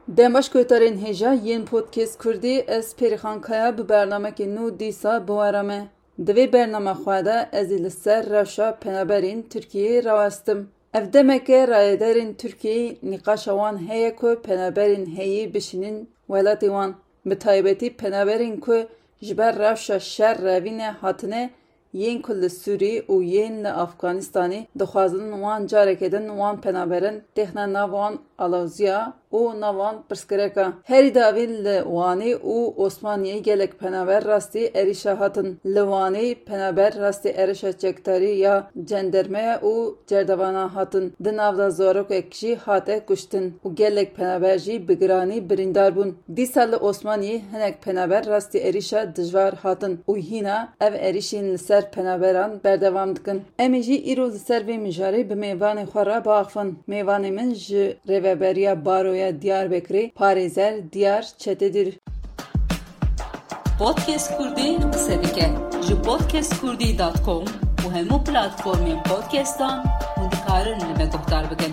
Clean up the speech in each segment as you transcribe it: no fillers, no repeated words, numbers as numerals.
Demaş koytarên hêja yên podcast Kurdî ez Pêrîxan Kaya bi bernamekê nû dîsa biwarame. Di vê bernama xwe de ez ê li ser rewşa penaberên Tirkiyeyê rawestim. Ev demeke rayederên Tirkiyeyê nîqaşa wan heye ku penaberên heyî bişînin welatê wan. Bi taybetî penaberên ku ji ber rewşa şer revîne hatine yên ku li Sûrî û yên li Efxanistanê dixwazin wan careke din wan penaberin têxine nav wan alawziya û nav wan pirsgirêka. Herî davê li Wanê û Osmaniyê gelek penaber rastî êrişa hatin. Li Wanê penaber rastî êrişa çekdarî ya cendermeya û cerdevana hatin. Di nav da zarokek jî hate kuştin û gelek penaber jî bi giranî birîndar bûn. Dîsa li Osmaniyê hinek penaber rastî êrişa dijwar hatin û hîna ev êrişên li ser penaberan berdewam dikin. Em ê jî îro li ser vê mijarê bi mêvanê xwe re biaxivin. Mêvanê min ji Rêveberiya Baroya Diyarbekirê parêzer Diyar Çetedir. Podcast Kurdî qise dike ji podcastkurdî.com û hemû platformên podcastan hûn dikarin li me guhdar bikin.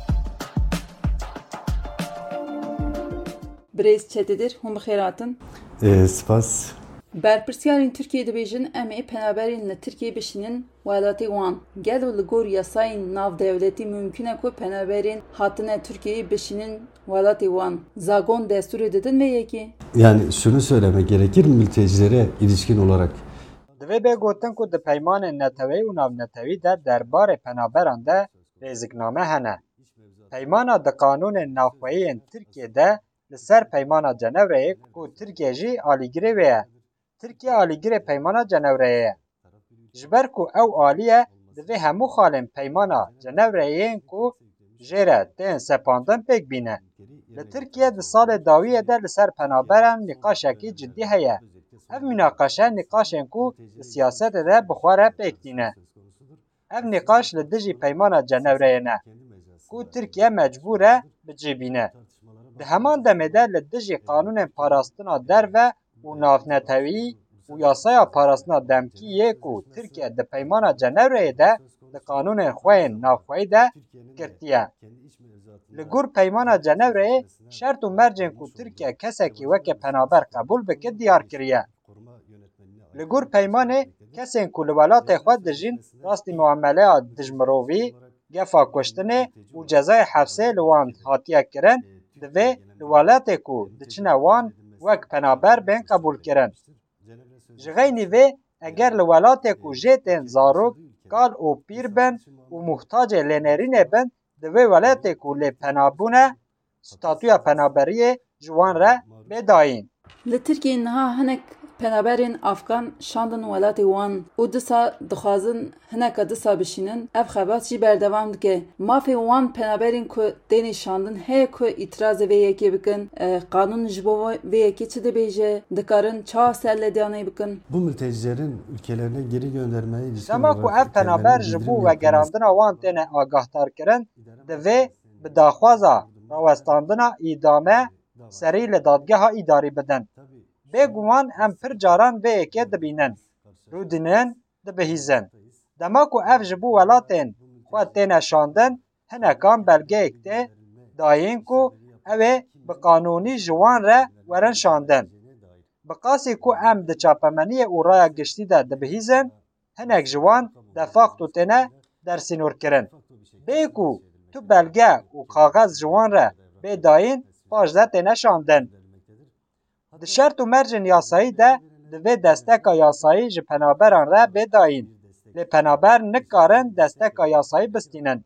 Birêz Çetedir, hûn bi xêr hatin. Spas. Berpirsyarên Tirkiyeyê dibêjin em ê penaberên li Tirkiyeyê bişînin welatê wan. Gelo li gor yasayên navdewletî mümkün e ku penaberên hatine Tirkiyeyê bişînin welatê wan. Zagon destûrê didin vê yekê? Yani şunu söylemek gerekir mültecilere ilişkin olarak. Divê bê gotin ku di peymanên netewî û navnetewî de derbarê penaberan de rêzikname hene. Peymana di kanûnên navxweyî Tirkiyeyê li ser peymana Cenevreyê ku Tirkiye jî alîgirê wê ye. Tirkiye alîgirê peymana Cenevreyê ye. Ji ber ku ew alîye divê hemû xalên peymana Cenevreyên ku jê re tên sepandin pêk bîne. Li Tirkiye di salê dawiyê de li ser penaberan nîqaşekî ciddî heye. Ev münaqeşe nîqaşên ku li siyasetê de bi xwe re pêk tîne. Ev nîqaş li dijî peymana Cenevreyê ne ku Tirkiye mecbûr e bicêbîne. Di heman demê de li dijî kanûnên parastina derve û navnetewî û yasaya parastina demkîyê ku Tirkiye di peymana Cenevreyê de di kanûnên xwe yên navxweyî de girtiye. Li gor peymana Cenevreyê şert û mercên ku Tirkiye kesekî weke penaber qebûl bike diyar kiriye. Li gor peymanê kesên ku li welatê xwe dijîn rastî muameleya dijmirovî, gefa kuştinê û cezayê hepsê li wan hatiye kirin, divê li welatê ku diçine wan wek penaber bên qebûlkirin. Ji xeynî vê eger li welatê ku jê tên zarok, kal û pîr bin û muhtacê lênêrînê bin, di vê welatê ku lê penabûne statûya penaberiyê ji wan re bêdayîn. Li Tirkiyeyê niha hinek penaberên Afgan şandin welatê wan û disa dixwazin hineka disa bişînin, ev xebat jî berdewam dike. Mafê wan penaberên ku tên şandin heye ku îtirazê vê yekê bikin, kanûn ji bo vê yekê çi dibêje, dikarin çawa serlêdanê bikin. Bu mültecilerin ülkelerine geri göndermeye ilişkin Dema ku ev penaber ji bo vegerandina wan têne agahdar-kirin, divê bi daxwaza rawestandina îdame serî li dadgeha îdarî bidin. Bêguman em pir caran vê yekê dibînin, rûdinin, dibihîzin. Dema ku ev ji bo welatên xwe têne şandin, hinekan belgeyek tê dayîn ku ew ê bi qanûnî ji wan re werin şandin. Bi qasî ku em di çapemeniyê û raya giştî de dibihîzin, hinek ji wan defaq û têne dersînorkirin. Bê ku tu belge û kaxez ji wan re bêdayîn, paş de têne şandin. Di şert û mercên yasayî de divê desteka yasayî ji penaberan re bêdayîn. Lê penaber nikarin desteka yasayî bistînin.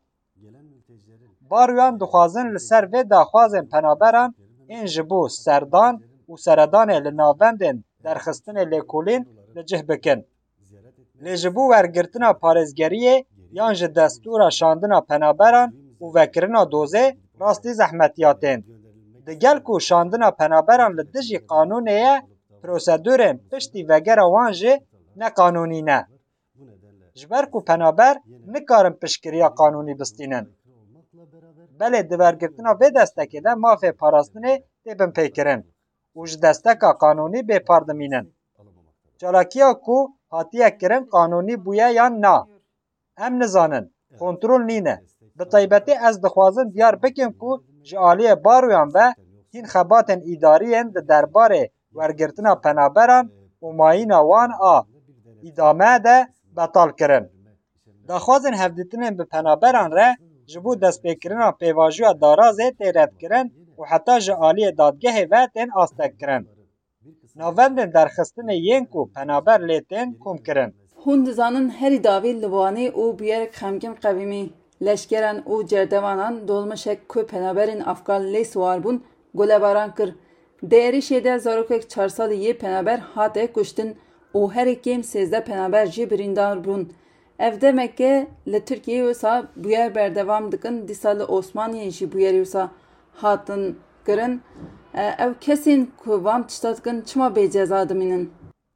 Baroyan dixwazin li ser vê daxwazên penaberan ên ji bo serdan û seredanê li navbendên derxistinê lêkolîn li cih bikin. Lê ji bo wergirtina parêzgeriyê yan ji destûra şandina penaberan û vekirina dozê rastî zehmetiya tên. Digel ku şandina penaberan li dijî kanûnê ye, prosedûrên piştî vegera wan jî neqanûnî ne. Ji ber ku penaber nikarin piştgiriya kanûnî bistînin. Belê di wergirtina vê destekê de mafê parastinê têbin pêkirin û ji desteka kanûnî bêpar dimînin. Çalakiya ku hatiye kirin kanûnî bûye yan na. Em nizanin, kontrol nîne. Bi taybetî ez dixwazim diyar bikim ku ji aliyê baroyan ve hîn xebatên îdariyên di derbarê wergirtina penaberan û mayîna wan a îdame de betal kirin. Daxwazên hevdîtinên bi penaberan re ji bo destpêkirina pêvajoya darazê tê redkirin û heta ji aliyê dadgehê ve tên astekkirin. Navendên derxistinê yên ku penaber lê tên komkirin. Hûn dizanin herî davî li wanê û bûyerek xemgîn qewîmî, leşkeran û cerdevanan dolmişek ku penaberên Afgan lê siwar bûn, golebaran kir. Di êrişê de zarokek 4 salî yê penaber hate kuştin û herî kêm 13 penaber jî birîndar bûn. Ev demeke li Tirkiyeyê wisa bûyer berdevam dikin, dîsa li Osmaniyê jî bûyerê wisa hatin kirin. Ev kesên ku van tişta dikin çima bêceza dimînin?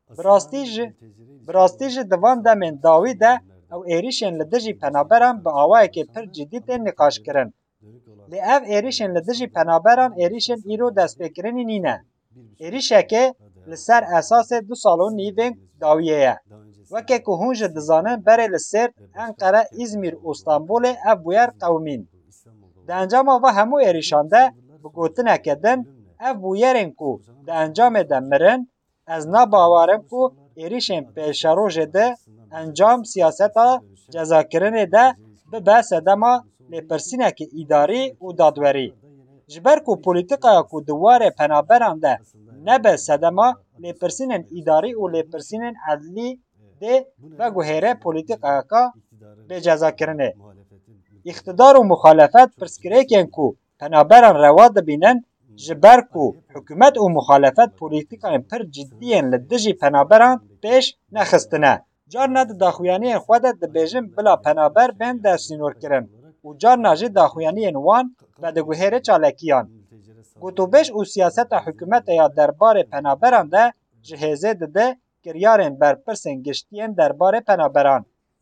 Bi rastî jî di van demên dawî de ew êrişên li dijî penaberan bi awayekê pir cidî tên nîqaşkirin. Lê ev êrişên li dijî penaberan êrişên îro destpêkirinî nîne. Êrişekê li ser esasê 2 sal û nîvên dawiyê ye. Weke ku hûn jî dizanin berê li Sêrt, Enqere, İzmîr û Stenbolê ev bûyer qewimîn. Di encama ve hemû êrişan de bi gotineke din ev bûyerên ku di encamê de mirin, ez nabawerim ku êrişên pêşerojê de encam siyaseta cezakirinê de bibe sedema lêpirsînekî îdarî û dadwerî. Ji ber ku polîtikaya ku di warê penaberan de nebe sedema lêpirsînên îdarî û lêpirsînên edlî dê veguhêre polîtikayeka bêcezakirinê. İktidar û muxalefet pirsgirêkên ku penaberan rewa dibînin ji ber ku hikûmet û muxalefet polîtikayên pir ciddiyên li dijî penaberan pêş nexistine. Carna di daxuyaniyên xwe de dibêjin bila penaber bên destînorkirin û carna jî daxuyaniyên wan vediguhêre çalakiyan. Gotûbêj û siyaseta hikûmetê ya derbarê penaberan de ji hêzê dide kiryarên berpirsên giştiyên derbarê penaberan.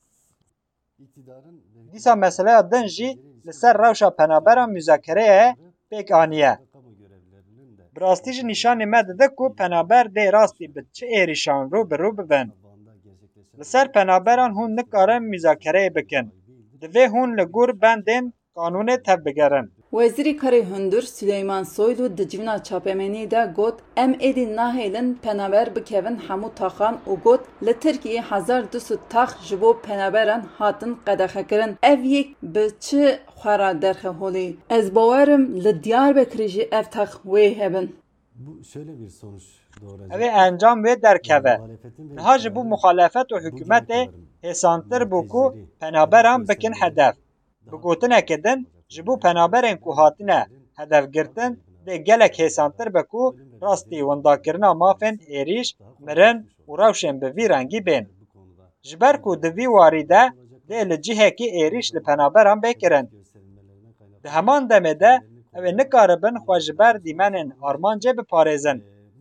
Dîsa meseleya din jî li ser rewşa penaberan müzakereyê pêk aniye. Bi rastî jî nîşanê me dide ku penaber dê rastî bi çi êrişan rûbirû bibin. Li ser penaberan hûn nikarin müzakereyê bikin. Divê hûn li gor bendên kanûnê tev bigerin. Wezîrê Karê Hundur Süleyman Soylu di civîna çapemeniyê de got em êdî nahêlin penaber bikevin hemû taxan û got li Tirkiyeyê 1200 tax ji bo penaberan hatin qedexekirin. Ev yek bi çi xwara derxe holî? Ez bawerim li Diyarbekirê jî ev tax wê hebin. Ev ê encam wê derkeve. Niha ji bo muxalefet û hikûmetê hêsantir bû ku penaberan bikin hedef. Bi gotinekê din ji bo penaberên ku hatine hedefgirtin dê gelek hêsantir be ku rastî wendakirina mafên êriş, mirin û rewşên bi vî rengî bên. Ji ber ku di vî warî de dê li cihekî êriş li penaberan bêkirin. Di heman demê de ew ê nikaribin xwe ji ber dîmenên armancê biparêzin.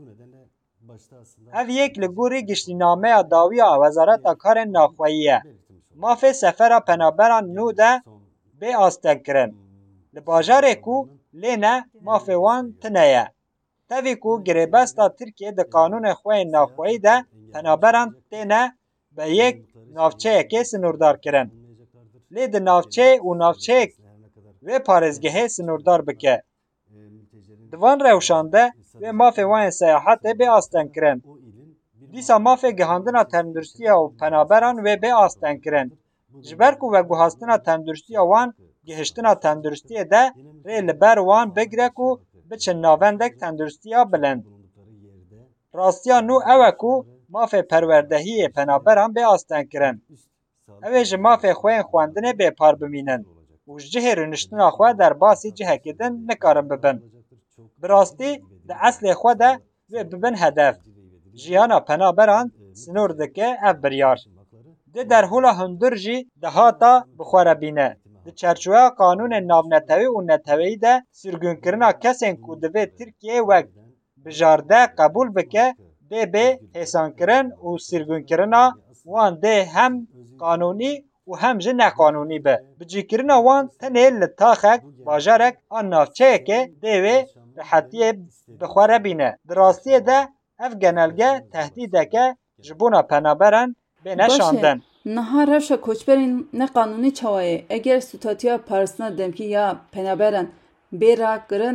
Ev yek li gorî giştînameya dawiya Wezareta Karên Naxweyî ye. Mafê sefera penaberan nû de bê astekkirin. Li bajarê ku lêne mafê wan tune ye. Tevî ku girêbesta Tirkiye di kanûnê xwe yên naxweyî de penaberan têne bi yek navçeyekê sinûrdar kirin. Lê di navçe û navçeyek vê parêzgehê sinûrdar bike. Di van rewşan de vê mafê wan yên seyahatê bê astenkirin. Dîsa mafê gihandina tendurustiya û penaberan wê bê astenkirin. Ji ber ku veguhastina tendurustiya wan gihiştina tendurustiyê de rê li ber wan bigire ku biçin navendek tendurustiya bilind. Rastiya nû ew e ku mafê perwerdehiyê penaberan bê astenkirin. Ew ê ji mafê xwe yên xwendinê bêpar bimînin û ji cihê rûniştina xwe derbasî cihekê din nikarin bibin. Bi rastî di eslê xwe de wê bibin hedef. Jiyana penaberan sinûr dike ev biryar. Di derhûla Hundur jî dihata bixwerebîne. Di çerçeveya kanûnên navnetewî û neteweyî de sürgûnkirina kesên ku divê Tirkiyeyê wek bijarde qebûl bike dê bê hêsankirin û sürgûnkirina wan dê hem kanûnî û hem jî neqanûnî be. Bicîkirina wan tenê li taxek, bajarek an navçeyekê dê wê rihetiyê bixwerebîne. Di rastiyê de ev genelge tehdîdeke ji bona penaberan bê neşandin. Niha rewşa koçberên neqanûnî çawa ye? Eger stûtatiya parastina demkî ya penaberan bê rakirin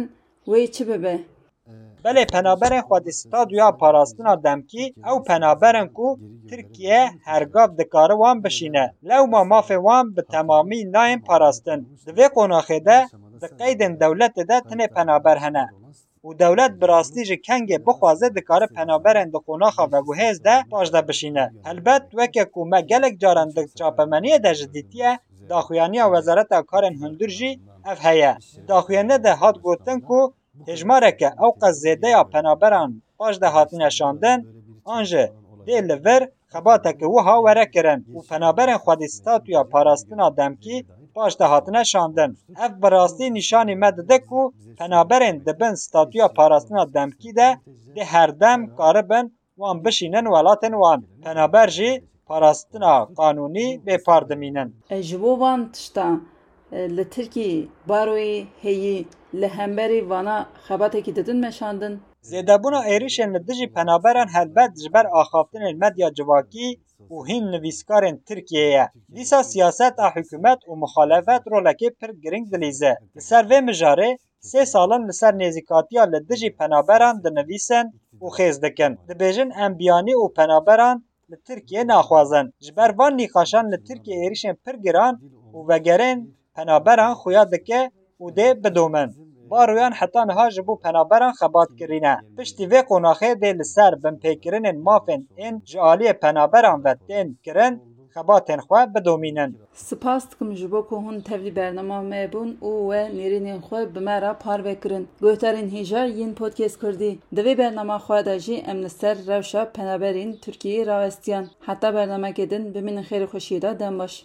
وی چی ببه؟ بله پنابرین خودستاد یا پاراستنا دمکی او پنابرن کو ترکیه هرگاف دکاره وان بشینه لو ما ماف وان به تمامی نایم پاراستن دوی قناخه ده قیدن دولت ده تنه پنابر هنه و دولت براستی جه کنگه بخوازه دکاره پنابرن ده قناخه و گوهز ده باش ده بشینه البت وکه کومه گلک جارن ده چاپمنیه ده جدیدیه داخویانی وزارت کارن هندور جی اف هیه داخویانه ده هات گوتن کو هجماره که او قزیده یا پنابران باش ده هاتین شاندن آنجه ده لور خباته که وها وره کرن و پنابران خودستات یا پاراستنا دمکی باش ده هاتین شاندن اف براستی نشانی مدده که پنابران دبن ستاتویا پاراستنا دمکی ده هر دم کاربن وان بشینن ولاتن وان پنابر جی پاراستنا قانونی به پاردمینن جبو وان تشتا لترکی باروی هیی لهمبری وانا خباته کی ددن مشاندن زیدبونا ایریشن لدجی پنابران هلبت جبر آخافتن المدیا جواکی و هین نویسکارن ترکیه دیسا سیاست حکومت و مخالفت رولکی پر گرینگ دلیزه لسر و مجاره 3 سالن لسر نیزیکاتیا لدجی پنابران دنویسن و خیز دکن دبیجن انبیانی و پنابران لترکیه ناخوازن جبر وان نیخاشان لترکیه ایریشن پر گران و وگرن پنابران خویا دکه و ده بدومن بارویان حتی نها جبو پنابران خبات کرینه پشتی وی قناخه ده لسر بن پیکرین مافن این جعالی پنابران و دین کرن خباتن خواه بدومینن سپاس دکم جبو که هون تفلی برنامه مبون و نیرینین خواه بمرا پار بکرن گوهترین هیجا یین پودکست کردی دوی برنامه خواه دا جی امنستر روشا پنابرین ترکیه راوستیان حتی برنامه کدن بمین خیر خوشی دا دن باش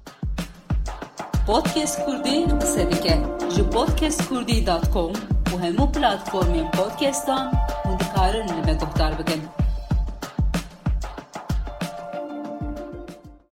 پودکست کردی قصه دیگه جو podcastkurdی.com و همو پلاتفورمین پودکستان و دکارن لبه گفتار بگن